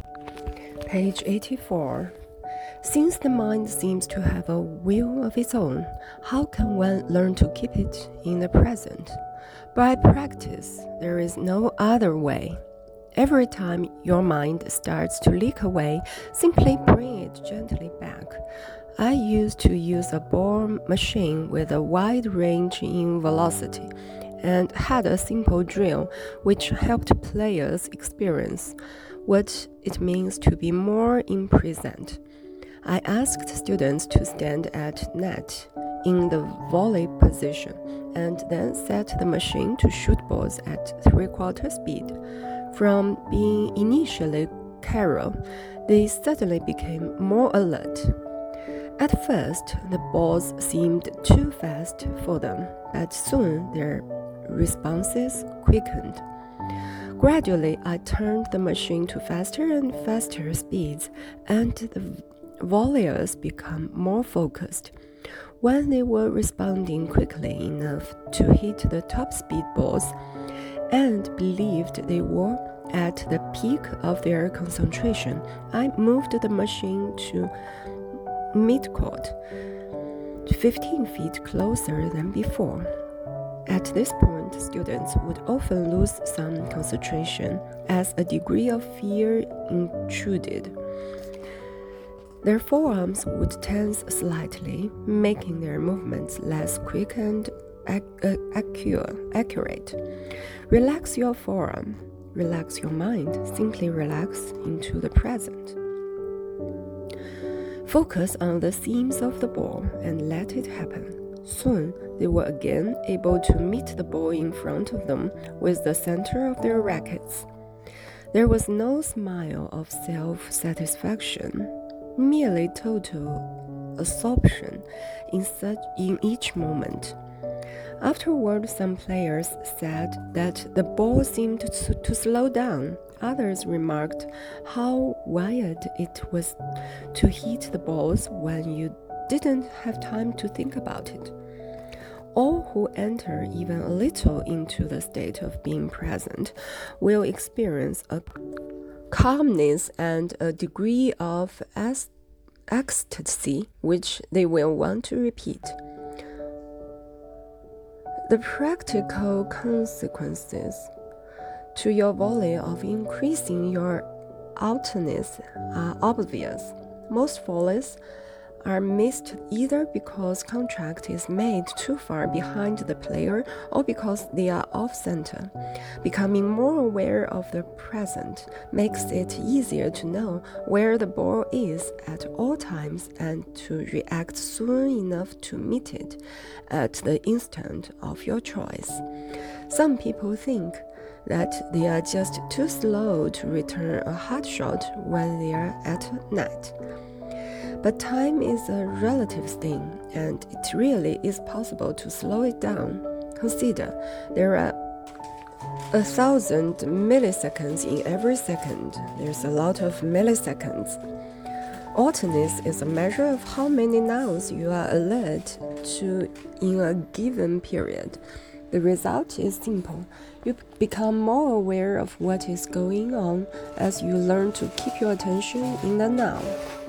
Page 84. Since the mind seems to have a will of its own, how can one learn to keep it in the present? By practice, there is no other way. Every time your mind starts to leak away, simply bring it gently back. I used to use a ball machine with a wide range in velocity and had a simple drill which helped players experience what it means to be more in present. I asked students to stand at net in the volley position and then set the machine to shoot balls at 3/4 speed. From being initially careless, they suddenly became more alert. At first, the balls seemed too fast for them, but soon their responses quickened. Gradually, I turned the machine to faster and faster speeds, and the volleyers became more focused. When they were responding quickly enough to hit the top speed balls and believed they were at the peak of their concentration, I moved the machine to midcourt, 15 feet closer than before. At this point, students would often lose some concentration as a degree of fear intruded. Their forearms would tense slightly, making their movements less quick and accurate. Relax your forearm, relax your mind, simply relax into the present. Focus on the seams of the ball and let it happen. Soon, they were again able to meet the ball in front of them with the center of their rackets. There was no smile of self-satisfaction, merely total absorption in each moment. Afterward, some players said that the ball seemed to slow down. Others remarked how wild it was to hit the balls when you didn't have time to think about it. All who enter even a little into the state of being present will experience a calmness and a degree of ecstasy which they will want to repeat. The practical consequences to your volley of increasing your alertness are obvious. Most volleys are missed either because contact is made too far behind the player or because they are off-center. Becoming more aware of the present makes it easier to know where the ball is at all times and to react soon enough to meet it at the instant of your choice. Some people think that they are just too slow to return a hard shot when they are at net. But time is a relative thing, and it really is possible to slow it down. Consider, there are 1,000 milliseconds in every second. There's a lot of milliseconds. Alertness is a measure of how many nows you are alert to in a given period. The result is simple. You become more aware of what is going on as you learn to keep your attention in the now.